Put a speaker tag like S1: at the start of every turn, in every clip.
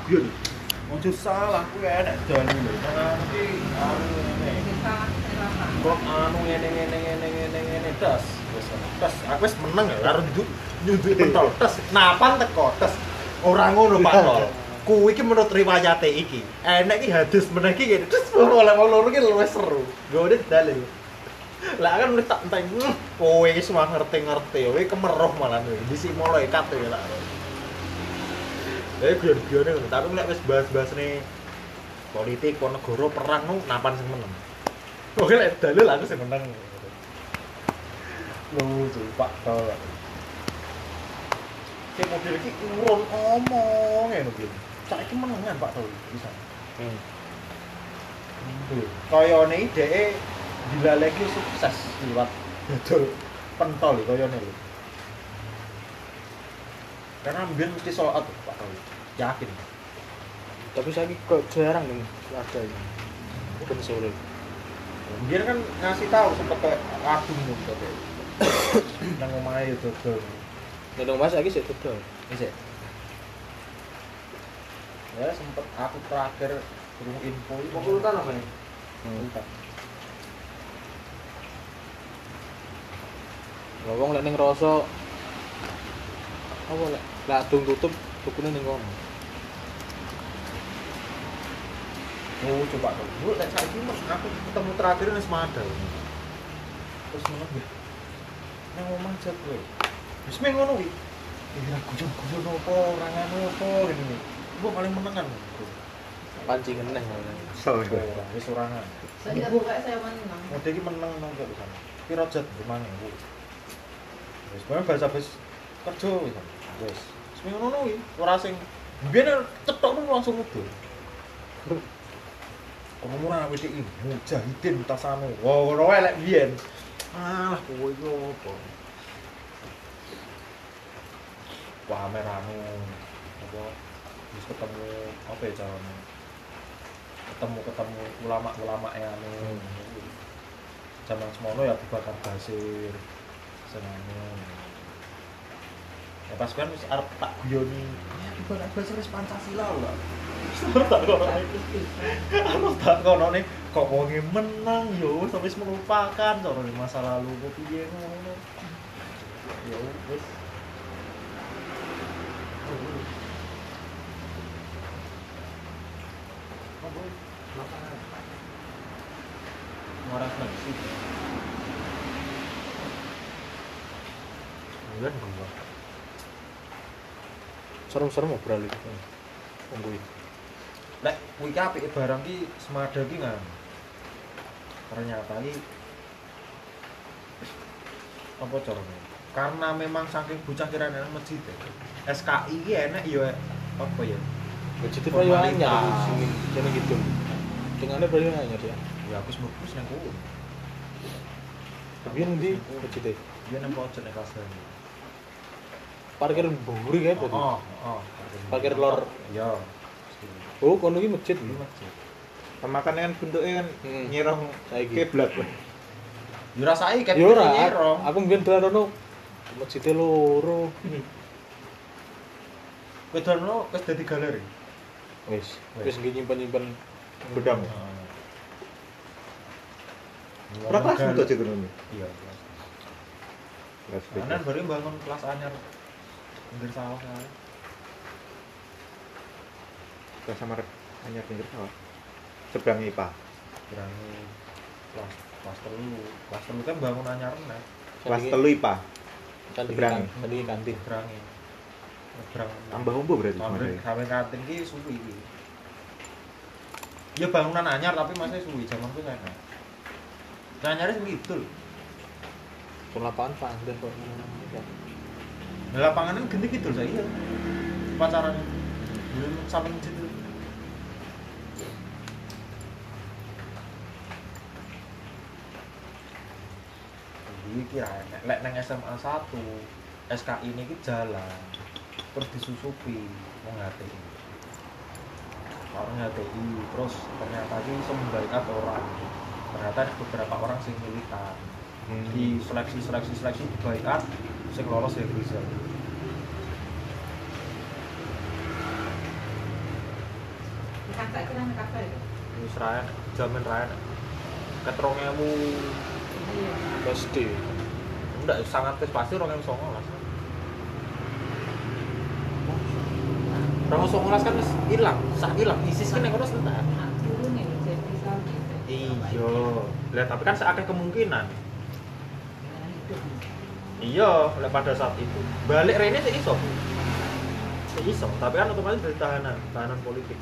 S1: guyon. Ojo salah kuwi enek dalu lho. Nang iki ngene. Kok ngene tes. Wis tes. Aku wis meneng ya karo nyunduk pentol tes. Napan teko tes. Ora ngono Pak Tol. Kuwi iki menurut riwayate iki. Enek iki hadis meneh iki ngene. Terus oleh wong loro iki luwih seru. Gone dalil. Lah kan wis tak enteng. Kowe iki semua ngerti-ngerti. Kowe kemeroh malah kowe. Disi malaikat ya lah. Guyon-guyone ngono. Tapi nek wis bahas-bahas nih politik, negara, perang nu napan sing meneng. Oke lek dalil aku sing meneng. Lucu Pak Tol. Kayak mobil iki urun omong ngono iki. Saiki menengan Pak Tol bisa. Kayane dheke dilaleki sukses liwat dodol pentol kayane lho. Karena mbiyen mesti soal Pak Tol. Yakin.
S2: Tapi saya kok jarang nih ada ini. Bukan sore.
S1: Mbiyen kan ngasih tahu sempet kayak kadung ngono kayak. Nang omahe dodol.
S2: Nang Mas iki sik dodol.
S1: Isik. Ya sempet aku terakhir kurung info iki
S2: Urutan apa nih?
S1: urutan.
S2: Lah wong lek ning rasa apa lek ladung tutup tukune ning kono.
S1: Oh, coba dong. Bu, lek saiki Mas aku ketemu terakhir nang Semada. Terus meneng ya. Nang omah jet kowe. Wis meh ngono kuwi. Ya guyon-guyon opo, ora ngono opo ngene. Gua paling menengan.
S2: Pancingan neh.
S1: Wis ora ngono.
S3: Saya buka saya menang.
S1: Mode iki meneng nang kok pisan. Piro jet 5.000. Wis bae bahasa-bahasa kerja wis. Wis. Wis meh ngono kuwi. Ora sing mbiyen cethokmu langsung mudhun. Ngomong anak WDI, mujahidin tasanu. Wow, ngono wae lek biyen. Alah, kowe iki opo? Pamerane apa wis ketemu apa ya carane? Ketemu ulama-ulama anu. Zaman semono ya Abu Bakar Basir. Senane. Ya pas kan wis arep tak guyoni. Ya Abu Bakar Basir wis Pancasila lho. Harus tak kono nih kok wonge menang yo sampai melupakan soal masa lalu kok piye ngono. Ya wis. Apa? Makanan. Ngorek nasi. Enggak enggak.
S2: Serem-serem ngobrol iki. Tungguin.
S1: Lek kuwi ki apike barang ki Semada ki kan. Ternyata ki apa carane? Karena memang saking bocah kirane nang masjid. SKI ki enek ya apa ya?
S2: Jadi koyo anyar sing kene gitu. Dengane koyo anyar ya.
S1: Ya aku mlebu nang kono.
S2: Tapi ndi becite?
S1: Dia nang pojok nek kasar.
S2: Parkir mburi kae tadi.
S1: Oh.
S2: Parkir lor.
S1: Ya.
S2: Oh, kono iki masjid.
S1: Ini masjid.
S4: Makane kan bentuknya kan nyirong
S2: Saiki.
S4: kiblat.
S1: Yo rasake ket
S2: Yo ora.
S1: nyerong.
S2: Aku mbiyen dolan ono masjid loro.
S1: Kowe dono wis dadi galeri.
S2: Wis nggih nyimpen-nyimpen
S4: Bedang. Ora kelas untuk aja ngono.
S1: Iya.
S4: Kelas
S1: Kanan baru bangun kelas anyar. Pinggir sawah kae.
S4: kelas sama hanya pinggir sawah. Seberang IPA.
S1: Berani kelas telu kan bangun anyar meneh.
S4: Kelas 3 IPA.
S2: Seberang kantin.
S1: Berani. Berang
S4: Tambah umbo berarti.
S1: sampai kantin ki suwi iki. Ya bangunan anyar tapi masih suwi zaman ku kan. Anyare sing kidul.
S2: Kon lapangan pandan kok.
S1: Lah lapangan kan genti kidul saiki ya. Pacaran. Belum samping situ. Iki lek nang SMA 1 SKI ini ki jalan terus disusupi wong HTI. Orang HTI terus ternyata ki sembaikat orang. Ternyata ada beberapa orang sing militan. Di seleksi dibaikat sing lolos ya Rizal.
S3: Kakak kira nek kafe itu.
S1: Wis ra enak, jamin ra enak. Ket 2000
S3: Iya.
S2: pasti
S1: ndak sangat tes pasti 2019. 2019 kan wis ilang, sah ilang. ISIS kan yang terus entar.
S3: Nah, turun nih jadi salju.
S1: Iya. Lah tapi kan seakeh kemungkinan.
S3: Nah, itu.
S1: Iya, oleh pada saat itu. Balik rene sik iso. Sik iso, tapi kan otomatis dari tahanan politik.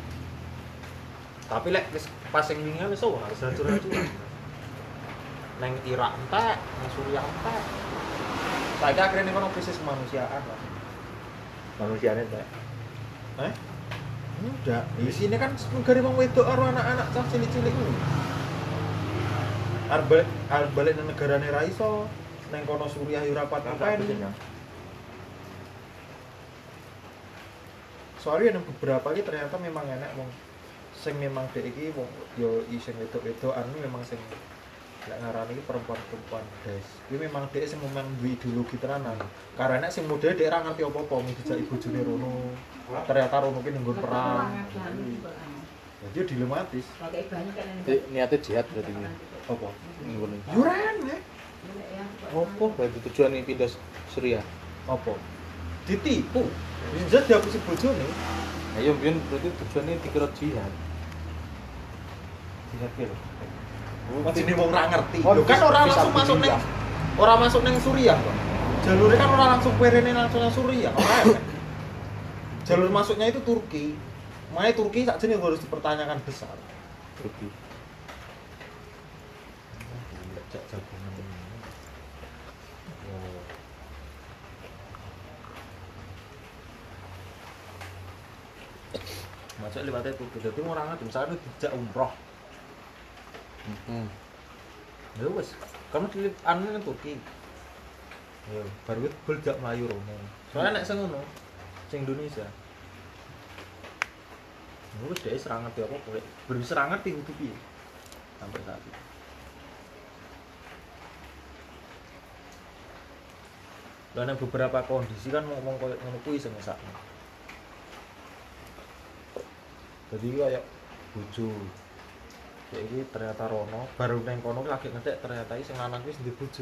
S1: Tapi lek wis pas sing wingi wis ora harus hancur-hancuran. Neng Irak entek, neng Suriah entek. Saiki akhirnya kono krisis kemanusiaan lah.
S4: Manusianya enggak.
S1: Udah, di sini kan negara wong wedok karo anak-anak cah cilik-cilik ku. Arep balik nang negarane ra iso. Neng kono Suriah yo ora pat-paten. Soalnya ada beberapa iki ternyata memang enak wong sing memang dhek iki wong yo iseng wedok-wedokan memang sing lek ngarani iki perempuan-perempuan guys. Kuwi memang dhek sing memang duwe ideologi tenanan. Karena sing model dhek ra ngerti apa-apa mung dijak bojone rono. Ternyata rono ki nenggon perang. Jadi dia dilematis.
S3: Pakai banyak kan yang
S2: Jadi, niatnya jihad berarti ini
S1: Apa?
S2: ngono
S1: Yuran ya.
S2: apa berarti tujuan ini pindah Suriah
S1: Apa? Ditipu. Bisa dihapusi bojone.
S2: ayo biyen berarti tujuannya dikira jihad
S1: Jihad ki lho. Masih wong ora ngerti.
S2: Oh,
S1: Lho kan ora
S2: bisa
S1: langsung masuk ning ora masuk ning Suriah kok. Jalurnya kan ora langsung perene langsung nang Suriah. Ora enak. Jalur masuknya itu Turki. Makanya Turki sakjane harus dipertanyakan besar.
S2: Turki
S1: Jak jagongan ini. Oh. Masuk lewatnya Turki. Jadi orang ada misalnya dijak umroh. Ya wes, kamu di anu nang Turki. Ya, baru itu beljak Melayu rono. Soalnya nek sing ngono, sing Indonesia. Ya wes dhek serangan ngerti apa boleh. Baru serangan ditutupi. Sampai saat itu. Dan beberapa kondisi kan ngomong koyo ngono kuwi sing sakno. Jadi kayak bojo. Ya iki ternyata rono, baru neng kono lagi ngetek ternyata iki sing lanang kuwi ndek bojo.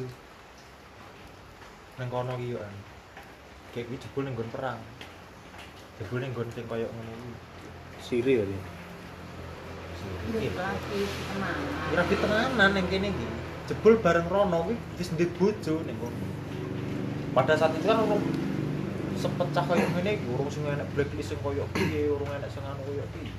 S1: Neng kono ki yo an. Kayak kuwi jebul ning nggon perang. Jebul ning nggon sing koyo ngono kuwi.
S2: Siri tadi
S3: lagi teman.
S1: Kira di tenanan ning kene iki. Jebul bareng rono kuwi wis ndek bojo ning kono. Pada saat itu kan urung sepecah koyo ngene iki, urung sing enek blacklist sing koyo piye, urung enek sing anu koyo piye.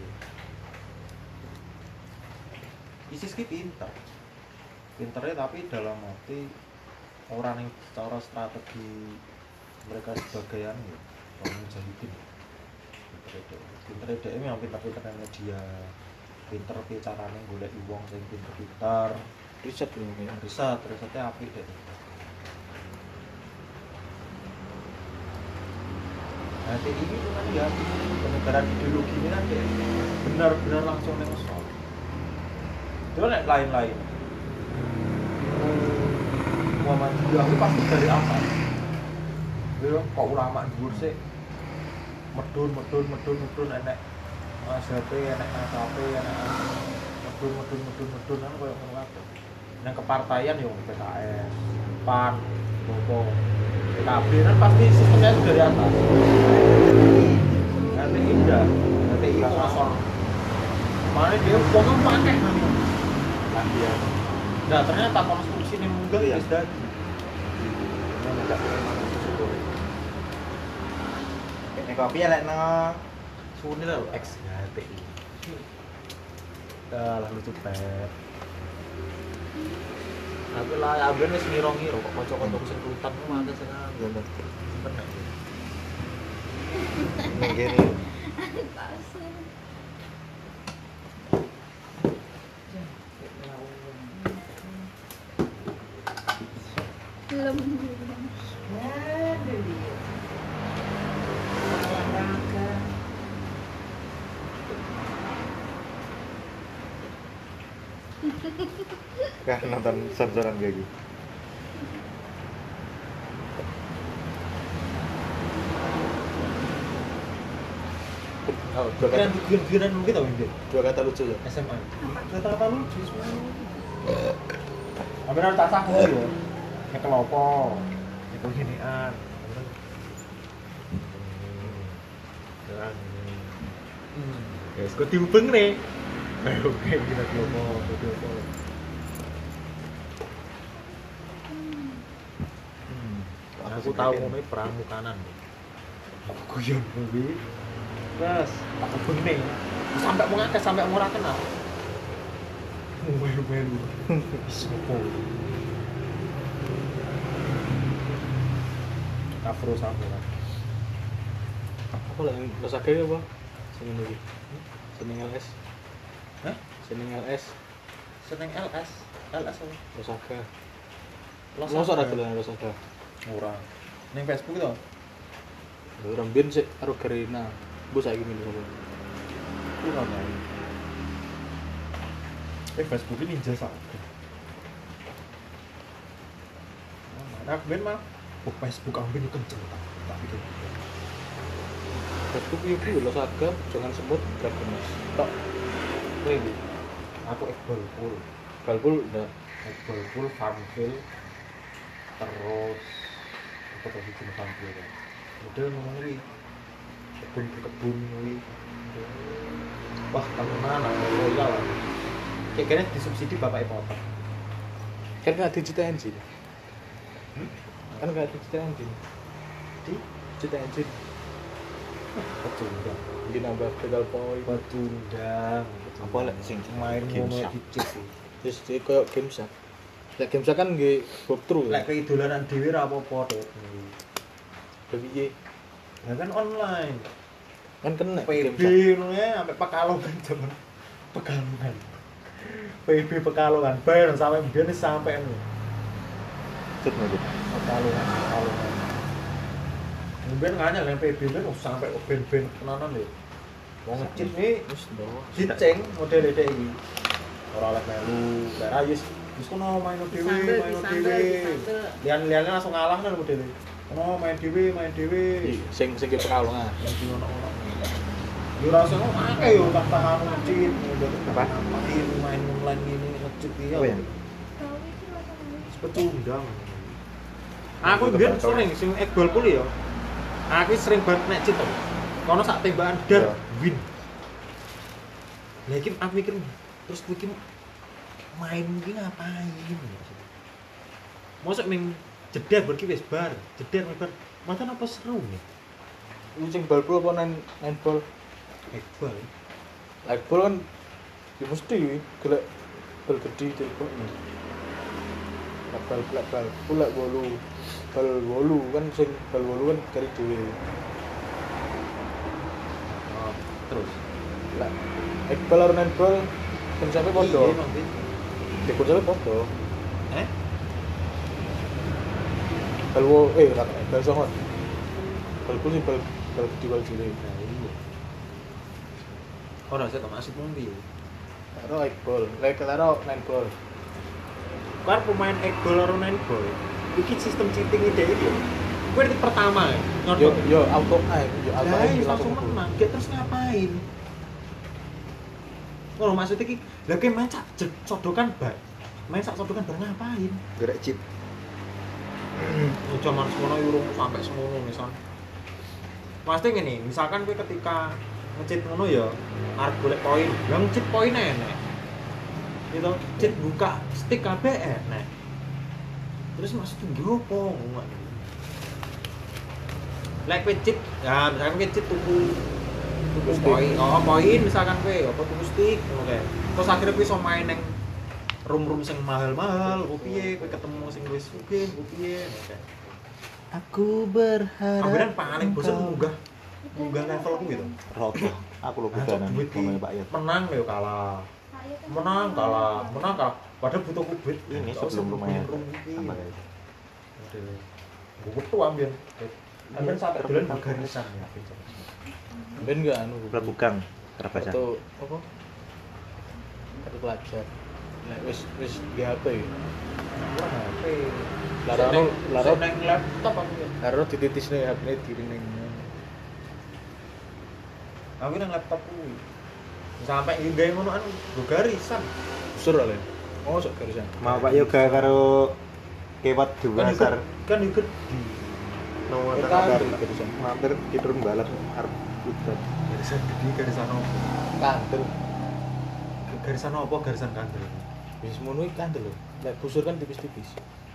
S1: ISIS ki pinter. Pinternya tapi dalam arti orang yang secara strategi mereka sebagai anu orang mujahidin. Pinter dia memang pinter-pinter media, pinter piye carane golek wong sing pinter-pinter,
S2: riset dulu ya
S1: risetnya apik deh. Nah, ini kan ya penyebaran ideologi ini kan dia benar-benar langsung ngesol. Itu kan lain-lain. Muhammadiyah itu pasti dari atas. Dia kok ulama dhuwur sih medun enek ASHP, enek AKP, enek medun kan koyo ngono kabeh. Nang kepartaian yo PKS, PAN, Bobo, PKB kan pasti sistemnya itu dari atas. Nanti indah, nanti kosong. Mana dia pokoknya pakai nanti.
S4: Iya.
S1: Nah ternyata konstruksi ini munggah ya sudah.
S4: Ini kopi ya lek no.
S1: Suni lah X HTI. Dah lah lucu pet. Tapi lah aben wis ngiro-ngiro kok kanca-kanca sing rutan ku mate sing anu. Bener.
S4: Ning kene. Kan nonton sor-soran kayak gitu.
S2: dua kata
S1: Giran gitu mungkin.
S2: dua kata lucu ya.
S1: SMA. Kata-kata lucu semuanya. Ambil tak saku ya. Nyekel opo? Nyekel ginian. Jalan. Guys, kok diubeng nih? Oke, kita opo, opo. Aku tahu ngomongnya pramukanan. Aku guyon kuwi. Terus tak ubeng nih. Sampai mau ngakes, sampai mau ora kenal. Melu-melu. Sopo? Afro samurai.
S2: Apa lah yang Losake apa? Sing iki. Seneng LS.
S1: Hah?
S2: Seneng LS.
S1: Seneng LS. LS apa?
S2: Losake.
S1: Los
S2: Mosok ora
S1: apa?
S2: dolan Losake.
S1: Ora. Ning Facebook itu.
S2: Orang biyen sik karo Garena. Bu saiki milih apa?
S1: Ora tahu. Facebook ini ninja Saga. Nah, ben mah Facebook aku ben kenceng tak pikir.
S2: Facebook itu Losake, jangan sebut Dragon. Tok.
S1: Kowe aku Iqbal full.
S2: Galpul udah
S1: Iqbal full Farmville. Terus apa tadi jenis Farmville kan. Model ngomong kuwi. Kebun kuwi. Wah, temenan loyal. Kayaknya disubsidi bapak Potter.
S2: kan nggak di Cita Engine. Kan nggak di Cita Engine.
S1: Di
S2: Cita Engine.
S1: pecundang.
S2: Mungkin nambah pedal poin.
S1: Pecundang.
S4: Apa lek sing
S1: main
S4: Game
S1: ngono
S4: Shark?
S1: dicip sih.
S2: Terus dia kayak game sak. Lek game sak kan nggih walkthrough.
S1: Lek keidolanan dhewe ra apa-apa, Dek.
S2: Tapi ye
S1: Ya kan online.
S2: kan kena
S1: PB
S2: game sak.
S1: ngono ya sampai Pekalongan jaman Pekalongan. PB Pekalongan bayar sampai mbiyen sampai ngono.
S4: Cut ngono.
S1: Pekalongan. Mbiyen nganyel yang PB ben sampai ben-ben tenanan lho. Wong ngecit nih
S2: Wis ndawa.
S1: diceng model dek iki. Ora oleh melu, lek ra wis kono main dhewe, main dhewe. Lian-liane langsung ngalah nang model. Ono main dhewe, main dhewe.
S2: Sing ke Pekalongan.
S1: Yang di ono-ono. Yo ra usah akeh yo tak tahan ngecit,
S4: Apa?
S1: main online ini ngecit iki
S4: Oh, ya?
S1: pecundang. Aku mbiyen sering sing Iqbal pul ya. Aku sering banget nek cheat to. Kono sak tembakan dar
S4: Ya.
S1: win. Lah iki aku mikir terus kowe iki main iki ngapain? Mosok ning jeder berki wis bar, jeder bar. Matan apa seru nih?
S2: Ini sing bal-bal apa main bal?
S1: Iqbal.
S2: Like bal kan ya mesti gelek bal gede itu kok. Bal pula bal kan sing bal wolu kan kari dhewe.
S1: Oh, terus.
S2: Lah Iqbal karo netball konsepnya padha.
S1: Iya, Bang, Bin.
S2: Di konsepnya padha.
S1: Eh?
S2: Bal songon. Bal pul sing bal gede bal cilik.
S1: Nah, iya. Ora saya masih mung piye?
S2: Karo Iqbal, lek karo netball.
S1: Kan pemain Iqbal karo netball. Iki sistem cheating ide iki. Kowe di pertama ya.
S2: Yo auto ae, yo auto
S1: Lah,
S2: ae
S1: langsung menang. Dia terus ngapain? Ngono maksudnya iki, lha kowe main sak sodokan bar. Main sak sodokan bar ngapain?
S4: Gerak chip.
S1: Zaman semono urung sampai semono misal. Pasti ngene, misalkan kowe ketika nge-cheat ngono ya arep golek poin. Lah nge-cheat poin enek. Gitu, cheat buka stick kabeh enek. Terus maksudnya ngopo? Like kowe cheat, ya misalkan kowe cheat tuku
S2: stick.
S1: poin, poin misalkan kowe apa tuku stick ngono kae. Terus akhirnya kowe iso main nang room-room sing mahal-mahal, opo piye kowe ketemu sing wis sugih, opo piye.
S2: Aku berharap.
S1: Amberan paling bosen munggah level kuwi to.
S4: Roto. Aku lho budanan ngomongnya Pak Yat.
S1: Menang yo kalah. Menang kalah. Padahal butuh kubit.
S4: Ini
S1: Nggak usah
S4: sebelum rumahnya
S1: room iki.
S4: tambah kayak.
S1: Gue betul ambil. Ambil sampai bulan garisan ya.
S2: Ben enggak anu
S4: Prabugang, Karabasan.
S2: kartu apa? Kartu pelajar. Nek wis di HP ya.
S1: Kurang HP.
S2: Laro
S1: nang laptop aku ya.
S2: Laro dititisne HP-ne diring ning.
S1: Aku nang laptop kuwi. Sampai gawe ngono anu go garisan.
S2: Busur ale. Oh, sok garisan.
S4: Mau Pak Yoga karo kewat dua sar
S1: Kan yo gede.
S4: nomor
S2: Kita
S4: kabar
S2: ambil garisan.
S4: mampir kiturun balap arep udan.
S1: Garisan gede, garisan opo?
S2: Kandel.
S1: Garisan opo? Garisan kandel.
S2: Wis ngono iki kandel lho. Lek busur kan tipis-tipis.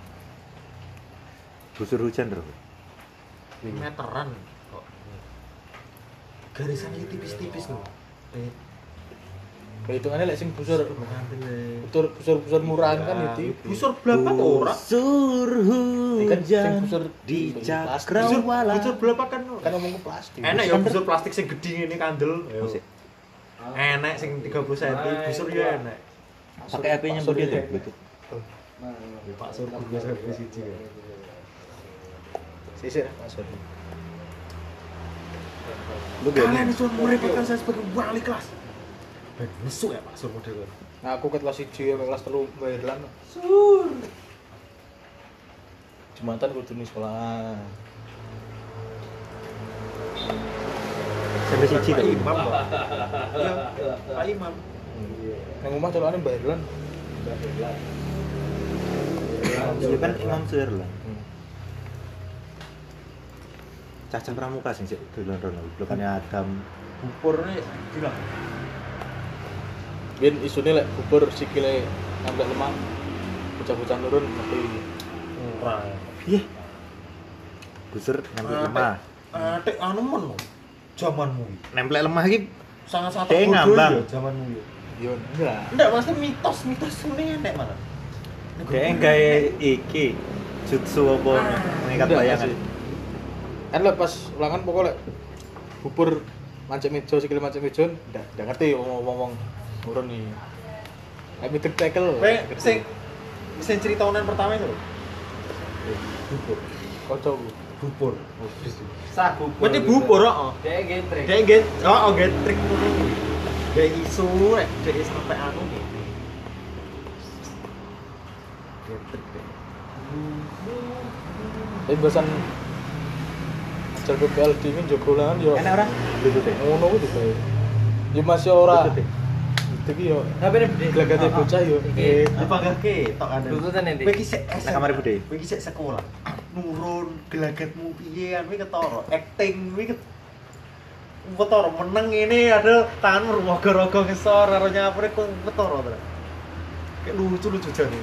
S4: Busur hujan terus.
S1: Meteran kok. Garisan iki tipis-tipis lho.
S2: Hitungannya lek sing busur
S1: Kandel.
S2: busur murahan kan ya tipis.
S1: Busur blapak ora?
S4: Busur
S2: Kan sing
S4: hujan
S2: busur
S4: di
S2: plastik.
S4: cakrawala.
S1: Busur blapak kan.
S2: Kan ngomong ke plastik.
S1: Enak ya busur plastik sing gede ngene kandel.
S4: Musik.
S1: Enak sing 30 cm, busur ya enak.
S4: Pakai HP-nya
S2: Busur
S4: Budi
S2: ya.
S4: tuh, Bluetooth.
S1: Pak Sur bisa siji ya.
S2: Sisir Pak Sur.
S4: Lu gini.
S1: Kalian itu merepotkan saya sebagai wali kelas. Ben mesuk ya Pak Sur model.
S2: Nah, aku ke kelas 1 sampai kelas 3 Bayerlan.
S3: Sur.
S2: Jumatan kudu ning sekolah.
S4: Sampai siji
S1: Pak
S4: tuh.
S1: Imam. Pak. Iya, Pak Imam.
S2: Nang omah colokane Bayerlan.
S4: Iya kan Imam Suherlan. Cacah pramuka sing sik dolan rono. Blokane Adam.
S1: Bupurnya gila.
S2: Biyen isune lek bubur sikile ngambil lemah. Bocah-bocah nurun tapi
S1: Murah.
S4: Iya. Busur nempel lemah.
S1: Tek anu men. Zamanmu iki.
S4: Nempel lemah iki
S1: Sangat-sangat
S4: Dek
S1: bodoh
S4: ngambang.
S1: ya zamanmu ya.
S2: yo enggak.
S1: Enggak, maksudnya mitos ini enek malah.
S4: kayak gawe iki jutsu apa mengikat
S2: Enggak,
S4: bayangan.
S2: masih. Kan lek pas ulangan pokoknya bubur mancik meja sikile mancik meja ndak ngerti ngomong nurun nih. Lek mitek tackle.
S1: Kayak sing cerita onan pertama itu lho. Bubur.
S2: Kocokku.
S1: Bubur.
S3: Sak bubur.
S1: Berarti bubur heeh.
S3: Dek getrek.
S1: Kayak get, oh get trik ngono kuwi. Kayak isu rek, jadi sampai anu gitu. Get trik deh.
S2: Tapi bahasan ajar PPL dingin njogo ulangan yo.
S4: Enak ora? Bluetooth e.
S2: Ngono kuwi digawe. Yo masih ora.
S4: Bluetooth e.
S2: Iki yo
S3: Tapi nek gede.
S2: glagate bocah yo.
S1: Dipanggahke tok ada.
S3: Tututan endi?
S1: Kowe iki sik
S4: Nang kamar Bude.
S1: Kowe iki sik sekolah. Nurun gelagatmu piye kan kowe ketara. Acting kowe ketara meneng ini ada tanganmu rogo-rogo ngesor karo nyapre kowe ketara to. Kayak lucu-lucu jane.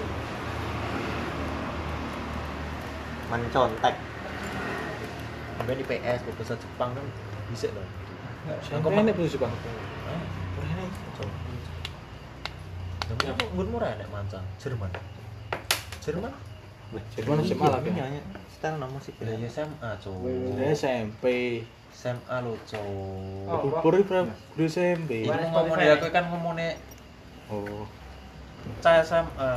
S4: Mencontek.
S1: Sampai di PS bahasa Jepang kan bisa loh.
S2: Sampai nek posisi Bang.
S1: Tapi apa murah nek mancang Jerman. Jerman?
S2: Jerman SMA lah kan.
S4: Nyanyi setel nama musik.
S1: Ya SMA, cowok.
S2: Dia SMP.
S1: SMA lo, cowok.
S2: Bubur iki berapa? Guru SMP.
S1: Ini ngomongnya aku kan ngomongnya
S2: Oh.
S1: cah SMA.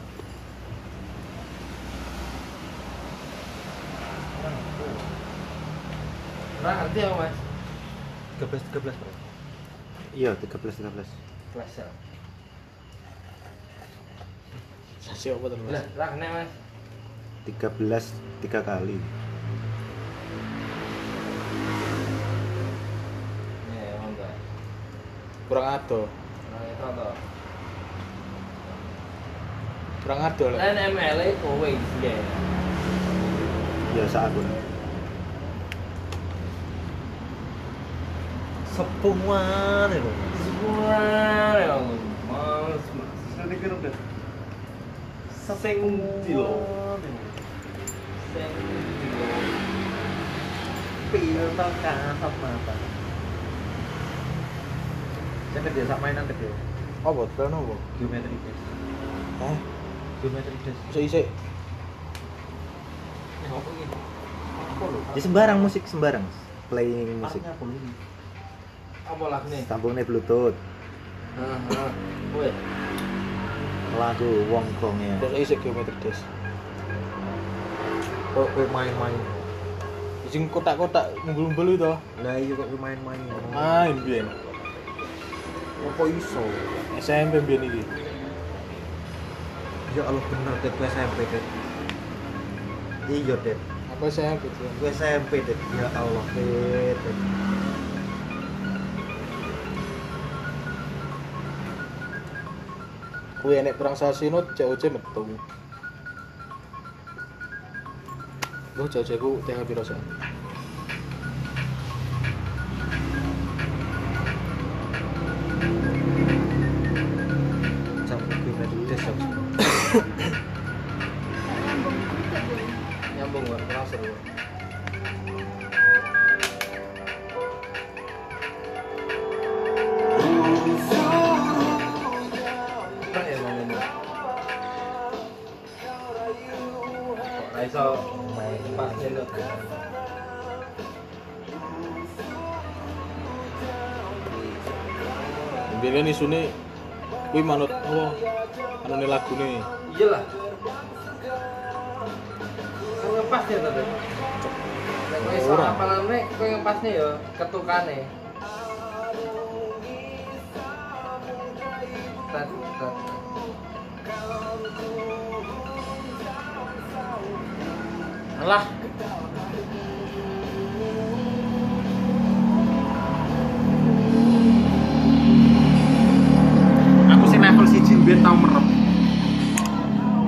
S3: Ora ngerti ya, Mas.
S1: 13 bro.
S4: Iya, 13.
S3: Kelas ya.
S2: Sasi apa terus?
S3: Lah, ra kena, Mas.
S4: 13 3 kali.
S3: Ya, monggo.
S2: Kurang ado.
S3: Ora itu to.
S2: Kurang ado lek.
S3: Lan ML e kowe iki ya.
S4: Ya sak aku.
S1: Sepungan itu.
S3: Semua ya. Mas, sudah kira udah. Sing dilo. Sing dilo.
S1: Pil kasat mata. Saya kerja sama mainan kecil.
S2: Apa? Plan apa?
S1: Geometry test.
S2: Hah?
S1: Geometry test.
S2: Isik-isik.
S1: Apa ini? Apa lho?
S4: Ya sembarang musik sembarang. Playing musik.
S1: Artinya apa lho?
S3: Apa lagune?
S4: Sambungnya Bluetooth.
S3: Heeh. Kowe.
S4: Lagu Wong Kongnya.
S2: Terus isik geometri des.
S1: Kok kowe main-main?
S2: Sing kotak-kotak ngumpul-ngumpul itu.
S1: Lah iya kok kowe main-main.
S2: Main biyen.
S1: Apa iso?
S2: SMP biyen iki.
S1: Ya Allah bener det kowe SMP det. Iya det.
S2: Apa SMP itu?
S1: Kowe SMP det. Ya Allah det.
S2: kuwi enek perang Sasino COC metu. Loh COC ku TH piro sih?
S1: Sampai gue dari desa.
S3: Nyambung gak? Kurang seru. Keren ya main ini. Kok Raisa main pas nyelot.
S2: Biyen isune kuwi manut apa? Anune lagune.
S3: Iyalah. Kan ngepas ya tadi. Nek kowe iso
S2: Ora.
S3: apalane kowe ngepasne ya ketukane. Tet, tet.
S2: Alah,